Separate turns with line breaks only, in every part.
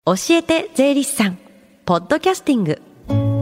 教えて税理士さんポッドキャスティング。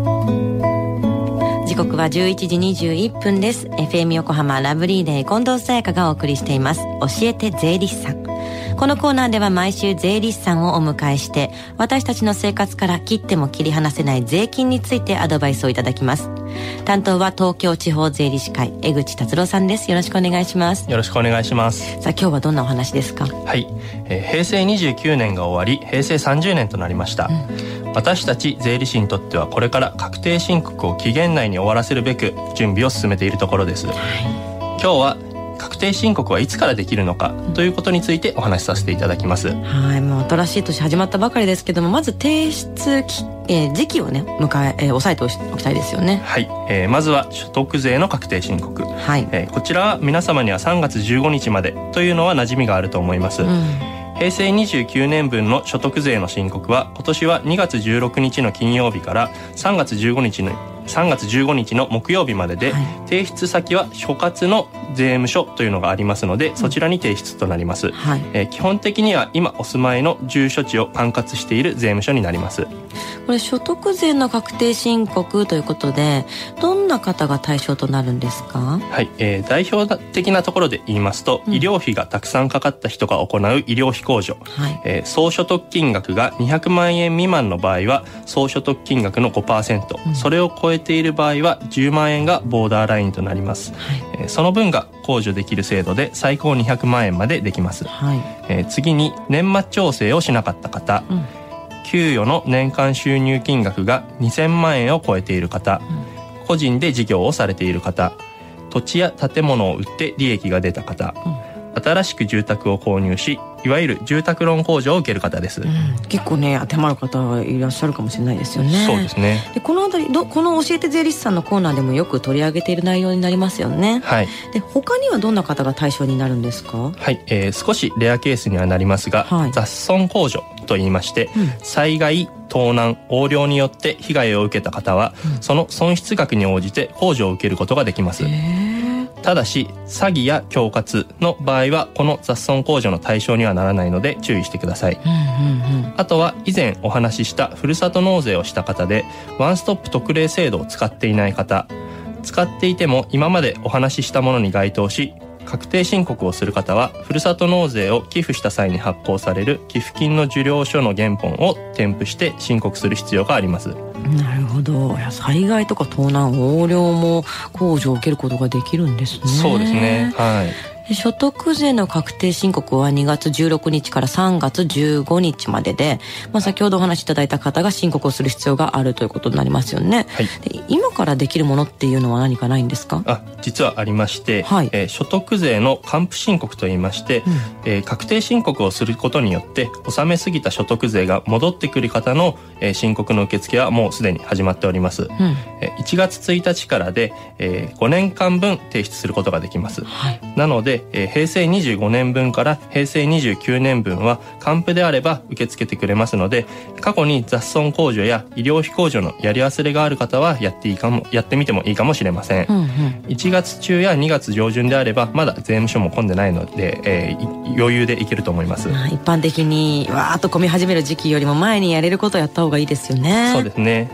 時刻は11時21分です。 FM 横浜ラブリーデー近藤沙耶香がお送りしています教えて税理士さん。このコーナーでは毎週税理士さんをお迎えして、私たちの生活から切っても切り離せない税金についてアドバイスをいただきます。担当は東京地方税理士会江口達郎さんです。よろしくお願いします。
よろしくお願いします。
さあ今日はどんなお話ですか？
はい、平成29年が終わり平成30年となりました、私たち税理士にとってはこれから確定申告を期限内に終わらせるべく準備を進めているところです、今日は確定申告はいつからできるのかということについてお話しさせていただきます。
はい、もう新しい年始まったばかりですけども、まず提出時期をね押さえておきたいですよね。
はい、まずは所得税の確定申告、
はい、
こちらは皆様には3月15日までというのは馴染みがあると思います、平成29年分の所得税の申告は今年は2月16日の金曜日から3月15日の木曜日までで、提出先は所轄の税務署というのがありますので、そちらに提出となります、基本的には今お住まいの住所地を管轄している税務署になります。
これ所得税の確定申告ということで、どんな方が対象となるんですか？
はい、代表的なところで言いますと、医療費がたくさんかかった人が行う医療費控除、総所得金額が200万円未満の場合は総所得金額の 5%、それを超えている場合は10万円がボーダーラインとなります、その分が控除できる制度で最高200万円までできます、次に年末調整をしなかった方、給与の年間収入金額が2000万円を超えている方、個人で事業をされている方、土地や建物を売って利益が出た方、新しく住宅を購入しいわゆる住宅ローン控除を受ける方です、
結構ね当てはまる方いらっしゃるかもしれないですよね。
そうですね。
でこのあたりこの教えて税理士さんのコーナーでもよく取り上げている内容になりますよね。で他にはどんな方が対象になるんですか？
少しレアケースにはなりますが、雑損控除と言いまして、災害、盗難、横領によって被害を受けた方は、その損失額に応じて控除を受けることができます。ただし詐欺や恐喝の場合はこの雑損控除の対象にはならないので注意してください、あとは以前お話ししたふるさと納税をした方でワンストップ特例制度を使っていない方、使っていても今までお話ししたものに該当し確定申告をする方はふるさと納税を寄付した際に発行される寄付金の受領書の原本を添付して申告する必要があります。
なるほど。災害とか盗難、横領も控除を受けることができるんですね。
そうですね。
所得税の確定申告は2月16日から3月15日までで、先ほどお話しいただいた方が申告をする必要があるということになりますよね。で今からできるものっていうのは何かないんですか？
実はありまして、所得税の還付申告といいまして、確定申告をすることによって納めすぎた所得税が戻ってくる方の、申告の受付はもうすでに始まっております、1月1日からで、5年間分提出することができます、なので平成25年分から平成29年分は還付であれば受け付けてくれますので、過去に雑損控除や医療費控除のやり忘れがある方はやってみてもいいかもしれません、1月中や2月上旬であればまだ税務署も混んでないので、余裕でいけると思います、
一般的にわーっと混み始める時期よりも前にやれることをやった方がいいですよね。
そうですね。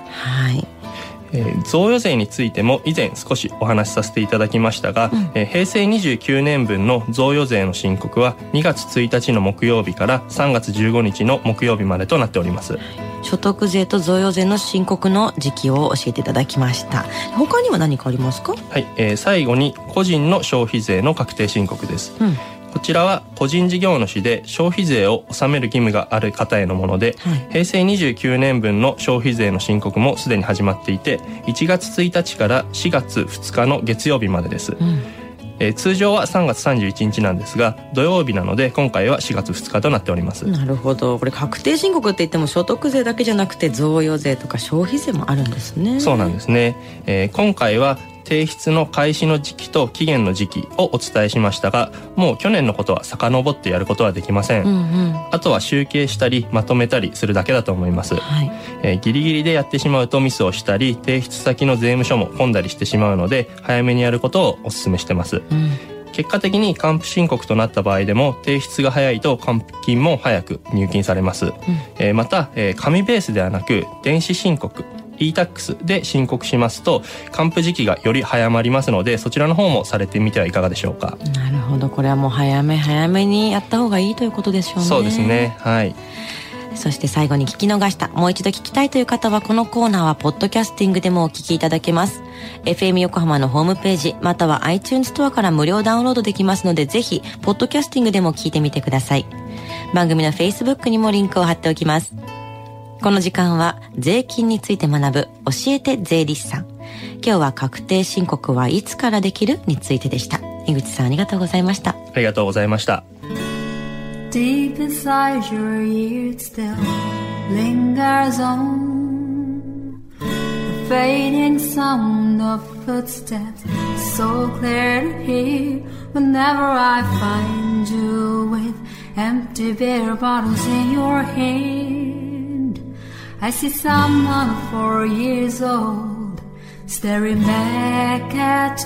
贈与税についても以前少しお話しさせていただきましたが、平成29年分の贈与税の申告は2月1日の木曜日から3月15日の木曜日までとなっております。
所得税と贈与税の申告の時期を教えていただきました。他には何かありますか？
最後に個人の消費税の確定申告です、こちらは個人事業主で消費税を納める義務がある方へのもので、平成29年分の消費税の申告もすでに始まっていて1月1日から4月2日の月曜日までです、通常は3月31日なんですが土曜日なので今回は4月2日となっております。
なるほど。これ確定申告って言っても所得税だけじゃなくて贈与税とか消費税もあるんですね。
そうなんですね、今回は提出の開始の時期と期限の時期をお伝えしましたが、もう去年のことは遡ってやることはできません、あとは集計したりまとめたりするだけだと思います、ギリギリでやってしまうとミスをしたり提出先の税務署も混んだりしてしまうので早めにやることをお勧めしてます、 結果的に還付申告となった場合でも提出が早いと還付金も早く入金されます、また、紙ベースではなく電子申告e-tax で申告しますと還付時期がより早まりますので、そちらの方もされてみてはいかがでしょうか。
なるほど、これはもう早めにやった方がいいということでしょうね。
そうですね、はい。
そして最後に聞き逃した、もう一度聞きたいという方はこのコーナーはポッドキャスティングでもお聞きいただけます。 FM 横浜のホームページまたは iTunes ストアから無料ダウンロードできますので、ぜひポッドキャスティングでも聞いてみてください。番組の Facebook にもリンクを貼っておきます。この時間は税金について学ぶ教えて税理士さん。今日は確定申告はいつからできるについてでした。井口さん、ありがとうございました。
ありがとうございました。
Deep inside your ear it still lingers on the fading sound of footsteps, so clear to hear whenever I find you with empty beer bottles in your hand. I see someone 4 years old staring back at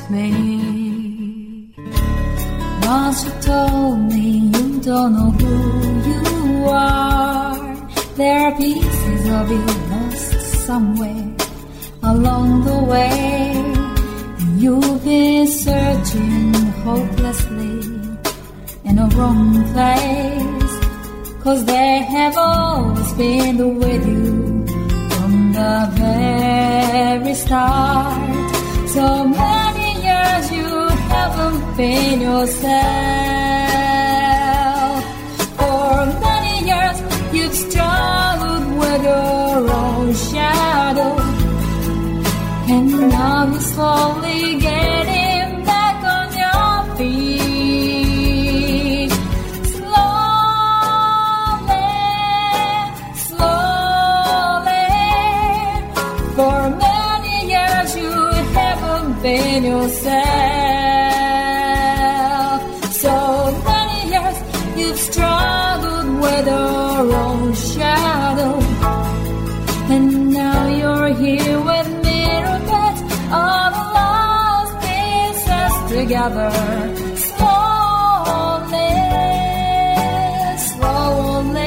me.Once you told me you don't know who you are. There are pieces of you lost somewhere along the way, and you've been searching hopelessly in a wrong place, 'cause they have always been with you from the very start. So many years you haven't been yourself. For many years you've struggled with your own shadow, and now you're slowly getting back on your feet. Slowly, slowly. For many years you haven't been yourself.So many years you've struggled with your own shadow, and now you're here with me to put all the lost pieces together. Slowly, slowly,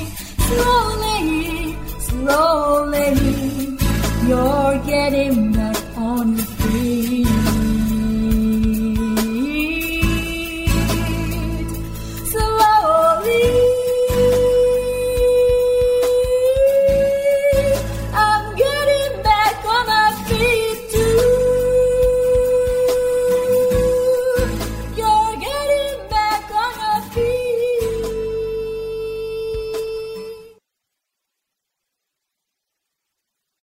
slowly, you're getting back